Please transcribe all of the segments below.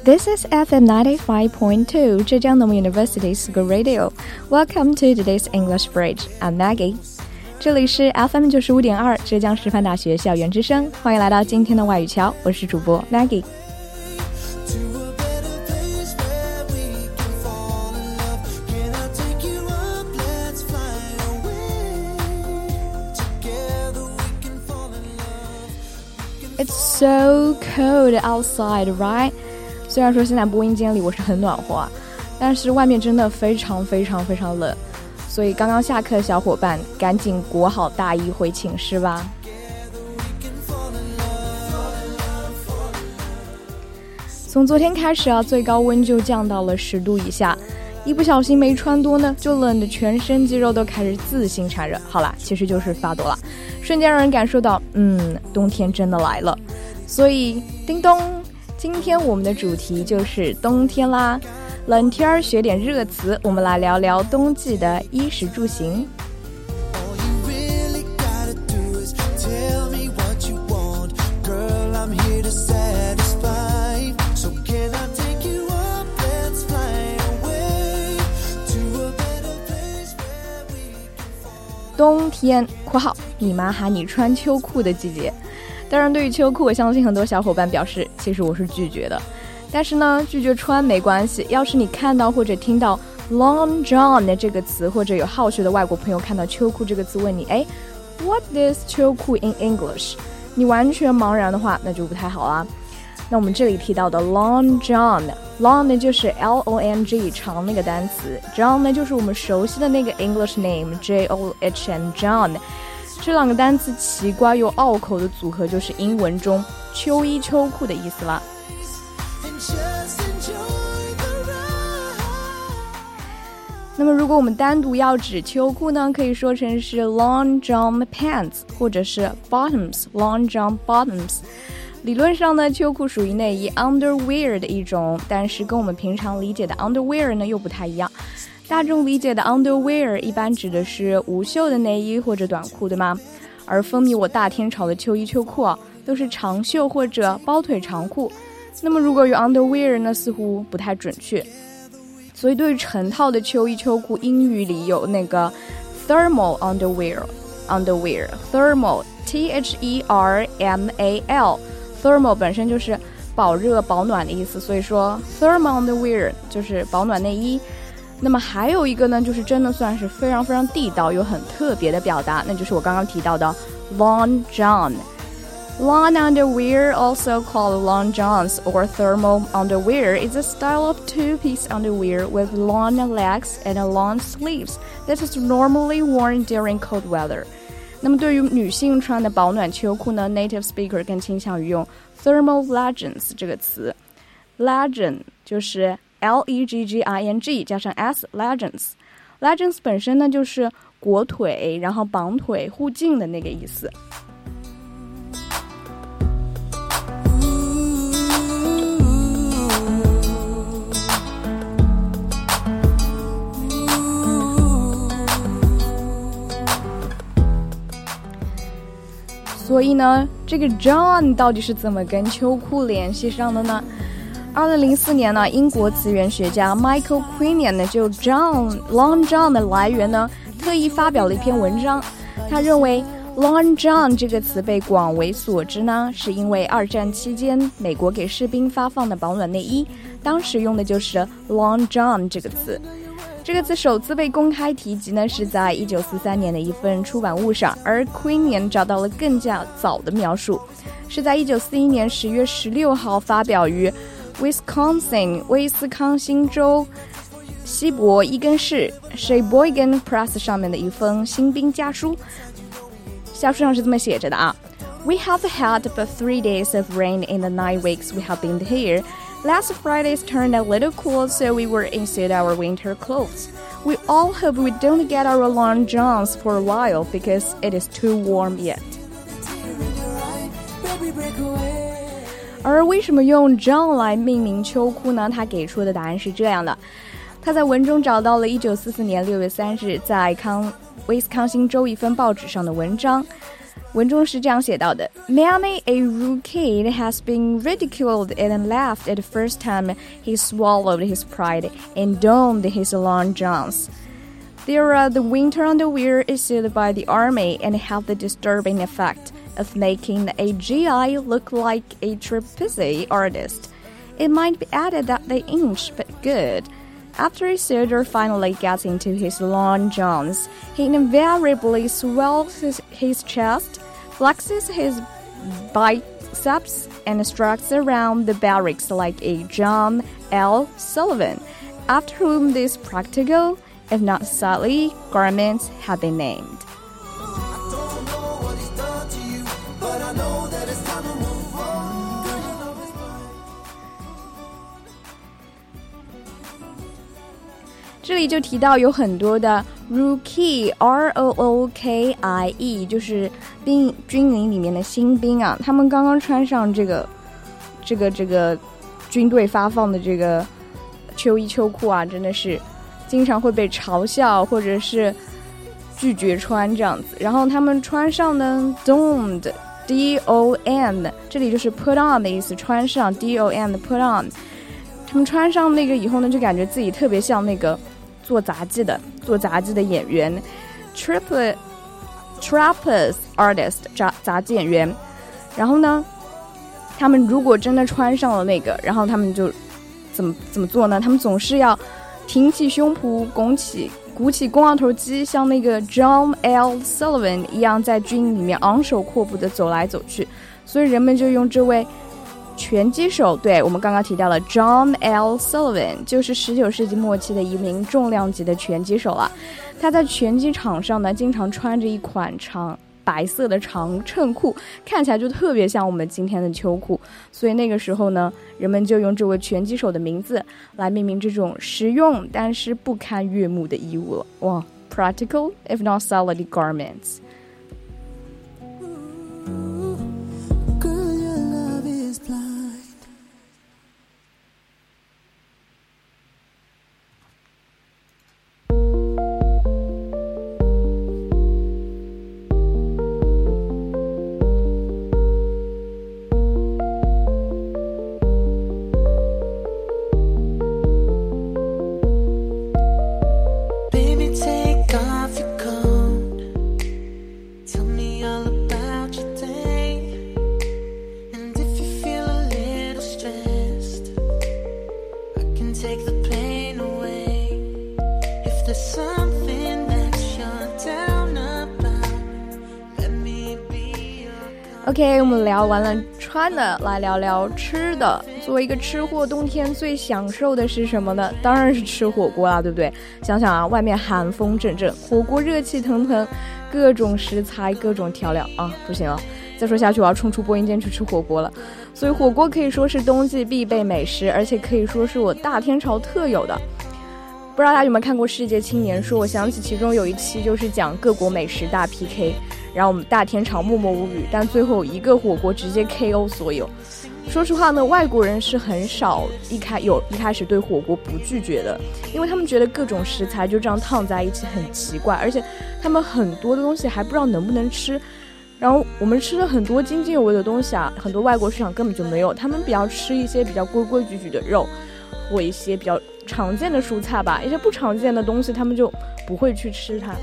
This is FM 95.2 Zhejiang Normal University School Radio. Welcome to today's English Bridge. I'm Maggie. 这里是 FM 95.2浙江师范大学校园之声，欢迎来到今天的外语桥，我是主播 Maggie。It's so cold outside, right? 虽然说现在播音间里我是很暖和啊，但是外面真的非常冷，所以刚刚下课的小伙伴赶紧裹好大衣回寝室吧。从昨天开始啊，最高温就降到了10度以下，一不小心没穿多呢，就冷得全身肌肉都开始自行产热。好啦，其实就是发抖了，瞬间让人感受到，冬天真的来了。所以，叮咚，今天我们的主题就是冬天啦。冷天学点热词，我们来聊聊冬季的衣食住行。冬天（括号你妈喊你穿秋裤的季节）。当然，对于秋裤，我相信很多小伙伴表示，其实我是拒绝的。但是呢，拒绝穿没关系。要是你看到或者听到 long john 的这个词，或者有好学的外国朋友看到秋裤这个词问你，what is 秋裤 in English？ 你完全茫然的话，那就不太好啦。那我们这里提到的 long john，long 呢就是 long 长那个单词， john 呢就是我们熟悉的那个 English name John John。这两个单词奇怪又拗口的组合，就是英文中秋衣秋裤的意思啦。那么如果我们单独要指秋裤呢，可以说成是 long john pants 或者是 bottoms long john bottoms。 理论上呢，秋裤属于内衣 underwear 的一种，但是跟我们平常理解的 underwear 呢又不太一样。大众理解的 underwear 一般指的是无袖的内衣或者短裤，对吗？而风靡我大天朝的秋衣秋裤啊，都是长袖或者包腿长裤。那么如果用 underwear 呢，似乎不太准确。所以对于成套的秋衣秋裤，英语里有那个 thermal underwear thermal T-H-E-R-M-A-L thermal 本身就是保热保暖的意思，所以说 thermal underwear 就是保暖内衣。那么还有一个呢，就是真的算是非常地道又很特别的表达，那就是我刚刚提到的 long john。 Long underwear, also called long johns or thermal underwear, is a style of two-piece underwear with long legs and long sleeves that is normally worn during cold weather。 那么对于女性穿的保暖秋裤呢， native speaker 更倾向于用 thermal leggings 这个词。 Legging 就是Legging 加上 s leggings 本身呢就是裹腿然后绑腿护颈的那个意思。所以呢，这个 John 到底是怎么跟秋裤联系上的呢？2004年呢，英国词源学家 Michael Quinion 呢就 long john 的来源呢特意发表了一篇文章。他认为 long john 这个词被广为所知呢，是因为二战期间美国给士兵发放的保暖内衣，当时用的就是 long john 这个词。这个词首次被公开提及呢，是在1943年的一份出版物上，而 Quinion 找到了更加早的描述，是在1941年10月16号发表于Wisconsin 威斯康星州西伯伊根市 Sheboygan Press 上面的一封新兵家书。家书上是这么写着的啊， We have had but 3 days of rain in the 9 weeks we have been here. Last Friday's turned a little cool, so we were inside our winter clothes. We all hope we don't get our long johns for a while because it is too warm yet. 而为什么用 John 来命名秋裤呢？他给出的答案是这样的。他在文中找到了1944年6月3日在威斯康星州一份报纸上的文章。 文中是这样写到的 Many a rude kid has been ridiculed and laughed at the first time he swallowed his pride and donned his long johns. There are the winter underwear issued by the army and have the disturbing effect of making a GI look like a trapeze artist. It might be added that they inch but good.After a soldier finally gets into his long johns, he invariably swells his chest, flexes his biceps, and struts around the barracks like a John L. Sullivan, after whom these practical, if not silly, garments have been named.这里就提到有很多的 rookie R-O-O-K-I-E 就是军营里面的新兵啊，他们刚刚穿上这个军队发放的这个秋衣秋裤啊，真的是经常会被嘲笑或者是拒绝穿这样子。然后他们穿上呢 donned D-O-N 这里就是 put on 的意思，穿上 D-O-N put on， 他们穿上那个以后呢，就感觉自己特别像那个做杂技的演员 trapeze artist 杂技演员。然后呢，他们如果真的穿上了那个，然后他们就怎么做呢？他们总是要挺起胸脯，鼓起肱二头肌，像那个 John L. Sullivan 一样，在军里面昂首阔步的走来走去。所以人们就用这位拳击手，对，我们刚刚提到了 John L. Sullivan， 就是19世纪末期的一名重量级的拳击手了。他在拳击场上呢，经常穿着一款白色的长衬裤，看起来就特别像我们今天的秋裤。所以那个时候呢，人们就用这位拳击手的名字来命名这种实用但是不堪悦目的衣物了。哇 ，practical if not solid garments。OK， 我们聊完了穿的，来聊聊吃的。作为一个吃货，冬天最享受的是什么呢？当然是吃火锅啦，对不对？想想啊，外面寒风阵阵，火锅热气腾腾，各种食材，各种调料啊，不行了，再说下去我要冲出播音间去吃火锅了。所以火锅可以说是冬季必备美食，而且可以说是我大天朝特有的。不知道大家有没有看过《世界青年说》？我想起其中有一期就是讲各国美食大 PK， 然后我们大天朝默默无语，但最后一个火锅直接 KO 所有。说实话呢，外国人是很少一开始对火锅不拒绝的，因为他们觉得各种食材就这样烫在一起很奇怪，而且他们很多的东西还不知道能不能吃。然后我们吃了很多津津有味的东西啊，很多外国市场根本就没有，他们比较吃一些比较规规矩矩的肉，或一些比较常见的蔬菜吧，一些不常见的东西他们就不会去吃它。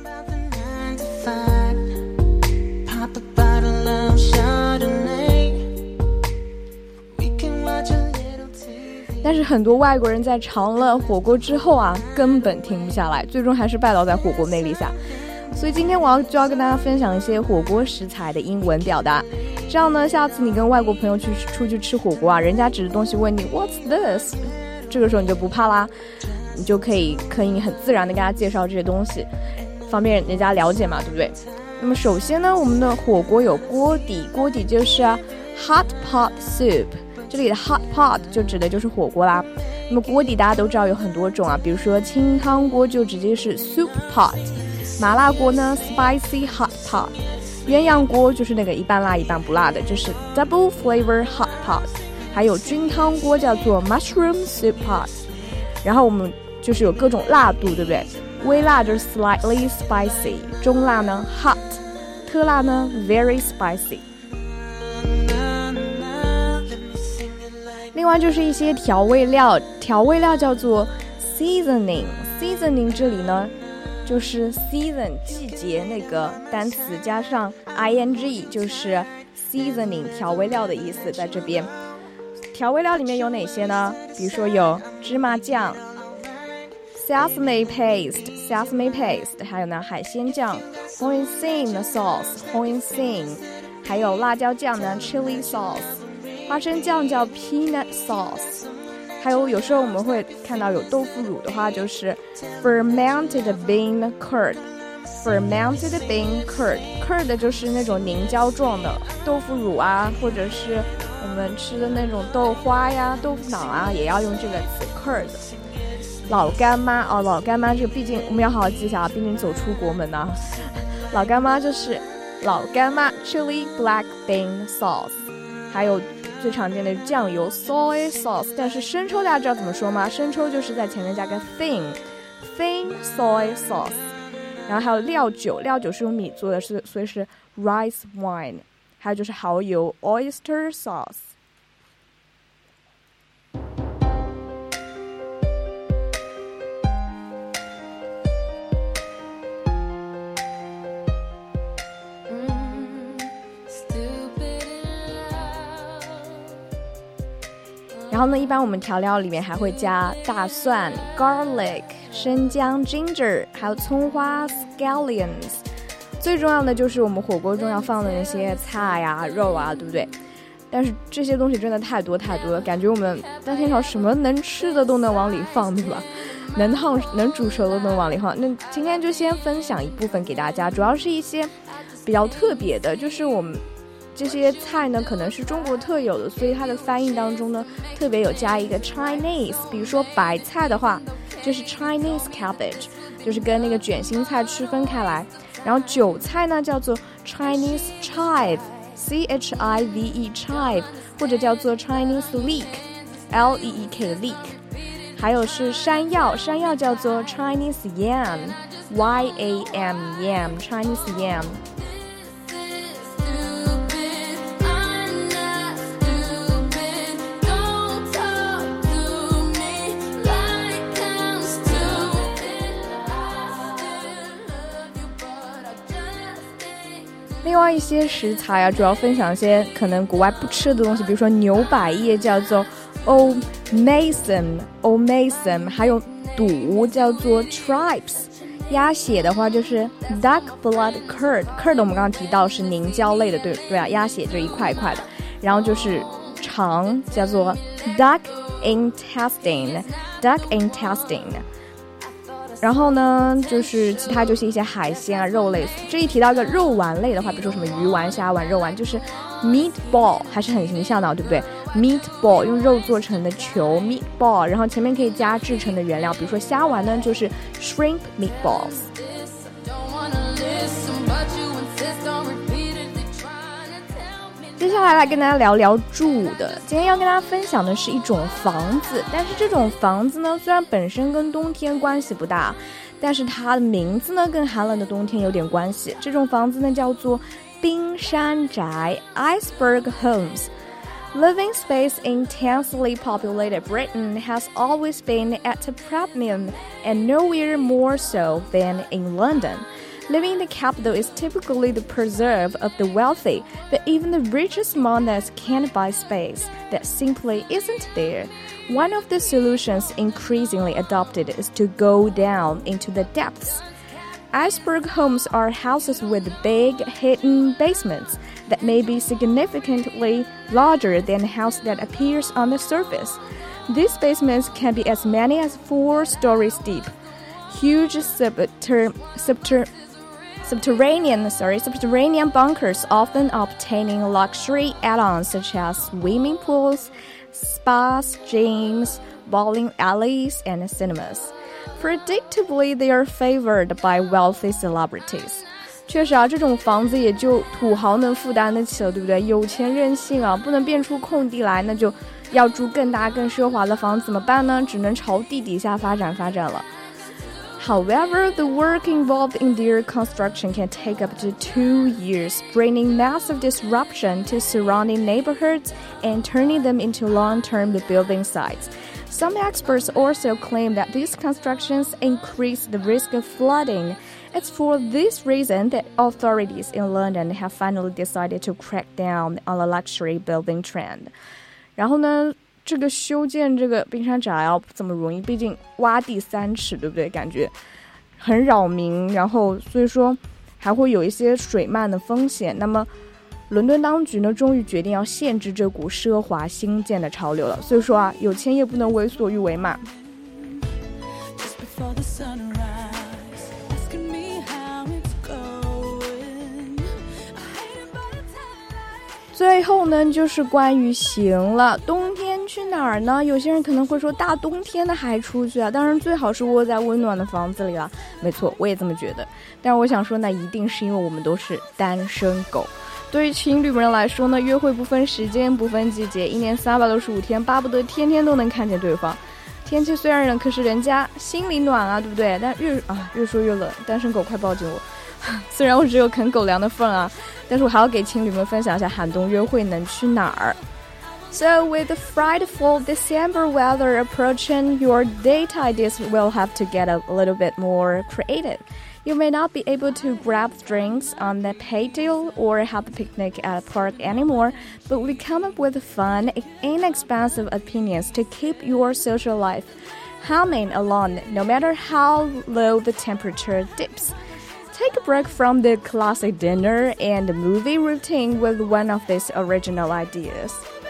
但是很多外国人在尝了火锅之后啊，根本停不下来，最终还是拜倒在火锅魅力下。所以今天就要跟大家分享一些火锅食材的英文表达，这样呢，下次你跟外国朋友出去吃火锅啊，人家指着东西问你 What's this？ 这个时候你就不怕啦，你就可以很自然的跟他介绍这些东西，方便人家了解嘛，对不对？那么首先呢，我们的火锅有锅底，锅底就是 hot pot soup， 这里的 hot pot 就指的就是火锅啦。那么锅底大家都知道有很多种啊，比如说清汤锅就直接是 soup pot， 麻辣锅呢 spicy hot pot， 鸳鸯锅就是那个一半辣一半不辣的，就是 double flavor hot pot， 还有菌汤锅叫做 mushroom soup pot。 然后我们就是有各种辣度，对不对？微辣就是 slightly spicy， 中辣呢 hot， 特辣呢 very spicy。另外就是一些调味料，调味料叫做 seasoning 这里呢就是 season 季节那个单词加上 ing 就是 seasoning 调味料的意思在这边。调味料里面有哪些呢？比如说有芝麻酱 sesame paste 还有呢海鲜酱 hoisin sauce 还有辣椒酱呢 chili sauce， 花生酱叫 peanut sauce， 还有时候我们会看到有豆腐乳的话就是 fermented bean curd curd 就是那种凝胶状的豆腐乳啊，或者是我们吃的那种豆花呀豆腐脑啊，也要用这个词 curd。 老干妈老干妈这个毕竟我们要好好记一下，毕竟走出国门啊。老干妈就是老干妈 chili black bean sauce， 还有最常见的酱油 soy sauce， 但是生抽大家知道怎么说吗？生抽就是在前面加个 thin soy sauce。 然后还有料酒是用米做的，所以是 rice wine。 还有就是蚝油 oyster sauce。然后呢，一般我们调料里面还会加大蒜 garlic 生姜 ginger 还有葱花 scallions。 最重要的就是我们火锅中要放的那些菜呀肉啊，对不对？但是这些东西真的太多了，感觉我们大天朝什么能吃的都能往里放，对吧？能煮熟的都能往里放。那今天就先分享一部分给大家，主要是一些比较特别的，就是我们这些菜呢可能是中国特有的，所以它的翻译当中呢特别有加一个 Chinese。 比如说白菜的话就是 Chinese cabbage， 就是跟那个卷心菜区分开来。然后韭菜呢叫做 Chinese chive CHIVE chive， 或者叫做 Chinese leek LEEK leek。 还有是山药叫做 Chinese yam YAM Chinese yam。另外一些食材啊，主要分享一些可能国外不吃的东西，比如说牛百叶叫做 Omason， 还有肚叫做 tripes， 鸭血的话就是 duck blood curd 我们刚刚提到是凝胶类的，对啊，鸭血就一块一块的。然后就是肠叫做 duck intestine。然后呢就是其他就是一些海鲜啊肉类。这一提到一个肉丸类的话，比如说什么鱼丸虾丸肉丸，就是 meatball， 还是很形象的，对不对？ meatball 用肉做成的球 meatball， 然后前面可以加制成的原料，比如说虾丸呢就是 shrimp meatballs。接下来跟大家聊聊住的。今天要跟大家分享的是一种房子，但是这种房子呢虽然本身跟冬天关系不大，但是它的名字呢跟寒冷的冬天有点关系。这种房子呢叫做冰山宅 Iceberg Homes。 Living space in intensely populated Britain has always been at a premium, and nowhere more so than in London.Living in the capital is typically the preserve of the wealthy, but even the richest among us can't buy space that simply isn't there. One of the solutions increasingly adopted is to go down into the depths. Iceberg homes are houses with big, hidden basements that may be significantly larger than a house that appears on the surface. These basements can be as many as 4 stories deep. Huge subterranean bunkers, often obtaining luxury add-ons such as swimming pools, spas, gyms, bowling alleys, and cinemas. Predictably, they are favored by wealthy celebrities. 确实啊，这种房子也就土豪能负担得起了，对不对？有钱任性啊，不能变出空地来，那就要住更大更奢华的房子，怎么办呢？只能朝地底下发展了。 However, the work involved in their construction can take up to 2 years, bringing massive disruption to surrounding neighborhoods and turning them into long-term building sites. Some experts also claim that these constructions increase the risk of flooding. It's for this reason that authorities in London have finally decided to crack down on the luxury building trend. 然后呢，这个修建这个冰山闸要不怎么容易，毕竟挖地3尺，对不对？感觉很扰民，然后所以说还会有一些水漫的风险。那么伦敦当局呢，终于决定要限制这股奢华新建的潮流了。所以说啊，有钱也不能为所欲为嘛。最后呢，就是关于行了。冬天去哪儿呢？有些人可能会说，大冬天的还出去啊？当然最好是窝在温暖的房子里了。没错，我也这么觉得。但是我想说呢，一定是因为我们都是单身狗。对于情侣们来说呢，约会不分时间不分季节，一年365天，巴不得天天都能看见对方。天气虽然冷，可是人家心里暖啊，对不对？但越说越冷，单身狗快抱紧我。虽然我只有啃狗粮的份啊，但是我还要给情侣们分享一下寒冬约会能去哪儿。So with the frightful December weather approaching, your date ideas will have to get a little bit more creative. You may not be able to grab drinks on the patio or have a picnic at a park anymore, but we come up with fun, inexpensive opinions to keep your social life humming along, no matter how low the temperature dips.Take a break from the classic dinner and movie routine with one of these original ideas.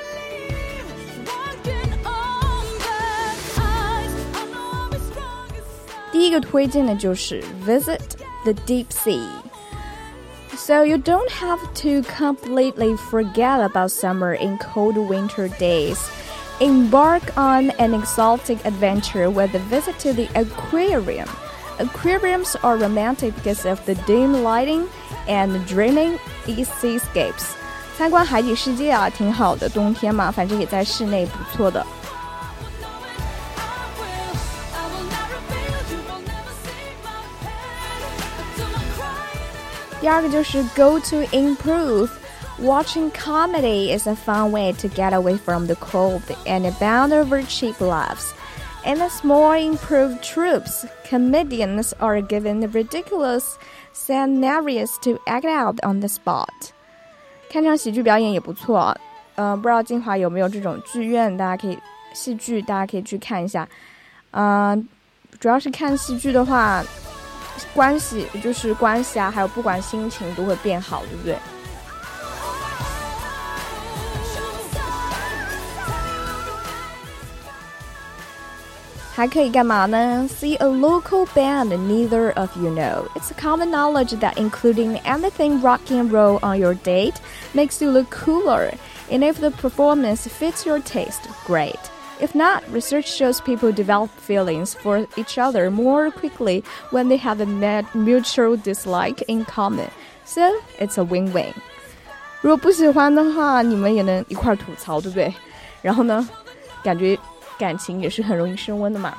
第一个推荐的就是 Visit the Deep Sea. So you don't have to completely forget about summer in cold winter days. Embark on an exotic adventure with a visit to the aquarium.Aquariums are romantic because of the dim lighting and dreaming seascapes. 参观海底世界啊，挺好的，冬天嘛，反正也在室内，不错的。第二个就是 Go to improve.Watching comedy is a fun way to get away from the cold and bound over cheap laughs.In the small improved troops, comedians are given ridiculous scenarios to act out on the spot. 看场喜剧表演也不错，不知道金华有没有这种剧院，戏剧大家可以去看一下。主要是看戏剧的话，关系啊，还有不管心情都会变好，对不对？还可以干嘛呢？ See a local band neither of you know. It's common knowledge that including anything rock and roll on your date makes you look cooler. And if the performance fits your taste, great. If not, research shows people develop feelings for each other more quickly when they have a mutual dislike in common. So, it's a win-win. 如果不喜欢的话，你们也能一块吐槽，对不对？然后呢，感情也是很容易升温的嘛。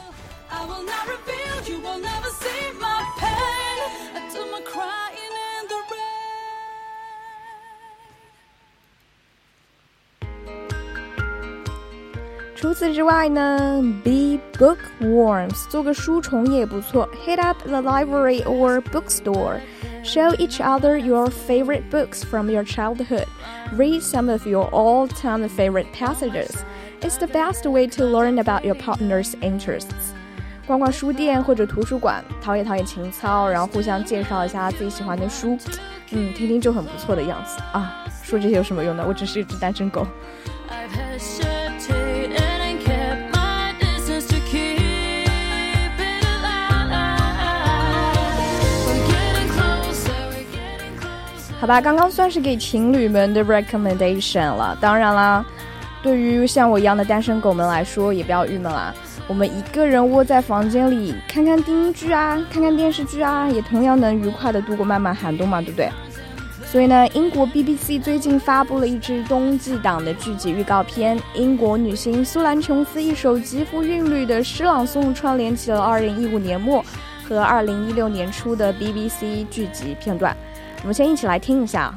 除此之外呢 ，be bookworms， 做个书虫也不错。Hit up the library or bookstore. Show each other your favorite books from your childhood. Read some of your all-time favorite passages.It's the best way to learn about your partner's interests. 逛逛书店或者图书馆，陶冶情操，然后互相介绍一下自己喜欢的书，听听就很不错的样子啊。说这些有什么用呢？我只是一只单身狗。好吧，刚刚算是给情侣们的 recommendation 了。当然啦，对于像我一样的单身狗们来说，也不要郁闷啦。我们一个人窝在房间里，看看电视剧啊，看看电视剧啊，也同样能愉快的度过漫漫寒冬嘛，对不对？所以呢，英国 BBC 最近发布了一支冬季档的剧集预告片，英国女星苏兰琼斯一首极富韵律的诗朗诵串联起了2015年末和2016年出的 BBC 剧集片段。我们先一起来听一下。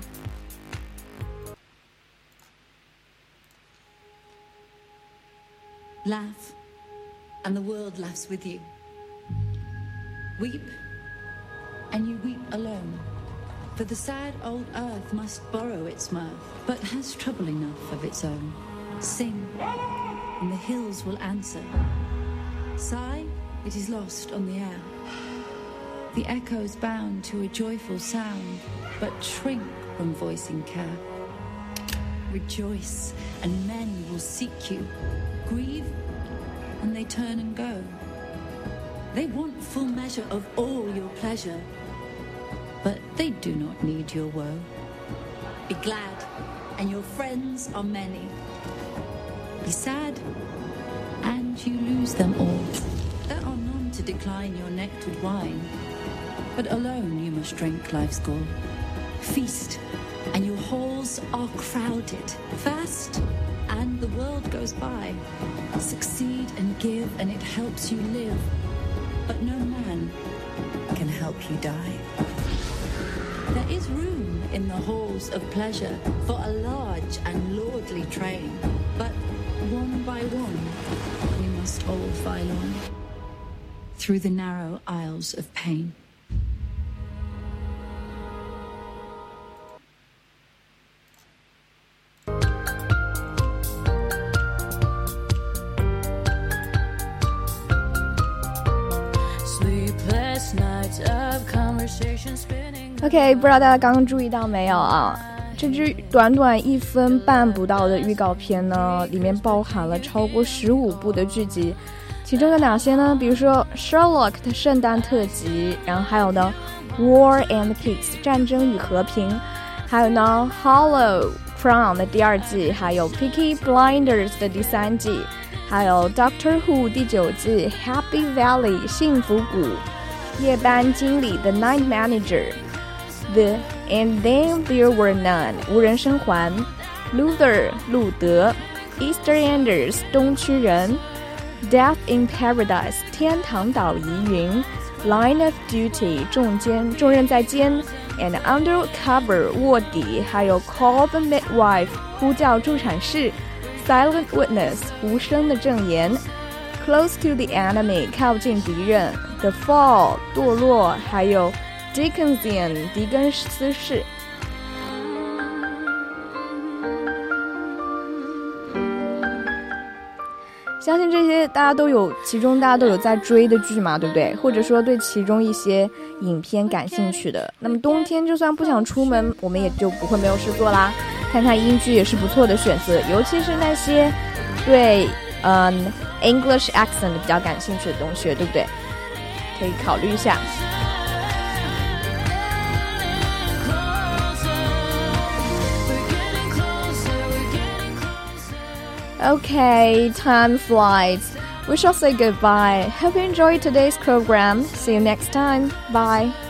Laugh, and the world laughs with you. Weep, and you weep alone. For the sad old earth must borrow its mirth, but has trouble enough of its own. Sing, and the hills will answer. Sigh, it is lost on the air. The echoes bound to a joyful sound, but shrink from voicing care. Rejoice, and men will seek you. Grieve, and they turn and go. They want full measure of all your pleasure, but they do not need your woe. Be glad, and your friends are many. Be sad, and you lose them all. There are none to decline your nectared wine, but alone you must drink life's gall. Feast, and your halls are crowded. Fast, and the world goes by. Succeed and give, and it helps you live, but no man can help you die. There is room in the halls of pleasure for a large and lordly train, but one by one we must all file on through the narrow aisles of pain. OK， 不知道大家刚刚注意到没有啊？这支短短1分半不到的预告片呢，里面包含了超过15部的剧集，其中有哪些呢？比如说 Sherlock 的圣诞特辑，然后还有呢 War and Peace 战争与和平，还有呢 Hollow Crown 的第2季，还有 Peaky Blinders 的第3季，还有 Doctor Who 第9季 Happy Valley 幸福谷，夜班经理 The Night Manager，The And Then There Were None 无人生还， Luther 路德， EastEnders 东区人， Death in Paradise 天堂岛疑云， Line of Duty 重任在肩， And Undercover 卧底，还有 Call the Midwife 呼叫助产士， Silent Witness 无声的证言， Close to the Enemy 靠近敌人， The Fall 堕落，还有Dickensian 狄更斯式。相信这些其中大家都有在追的剧嘛，对不对？或者说对其中一些影片感兴趣的，那么冬天就算不想出门，我们也就不会没有事做啦，看看英剧也是不错的选择，尤其是那些对English accent 比较感兴趣的同学，对不对？可以考虑一下。Okay, time flies. We shall say goodbye. Hope you enjoyed today's program. See you next time. Bye.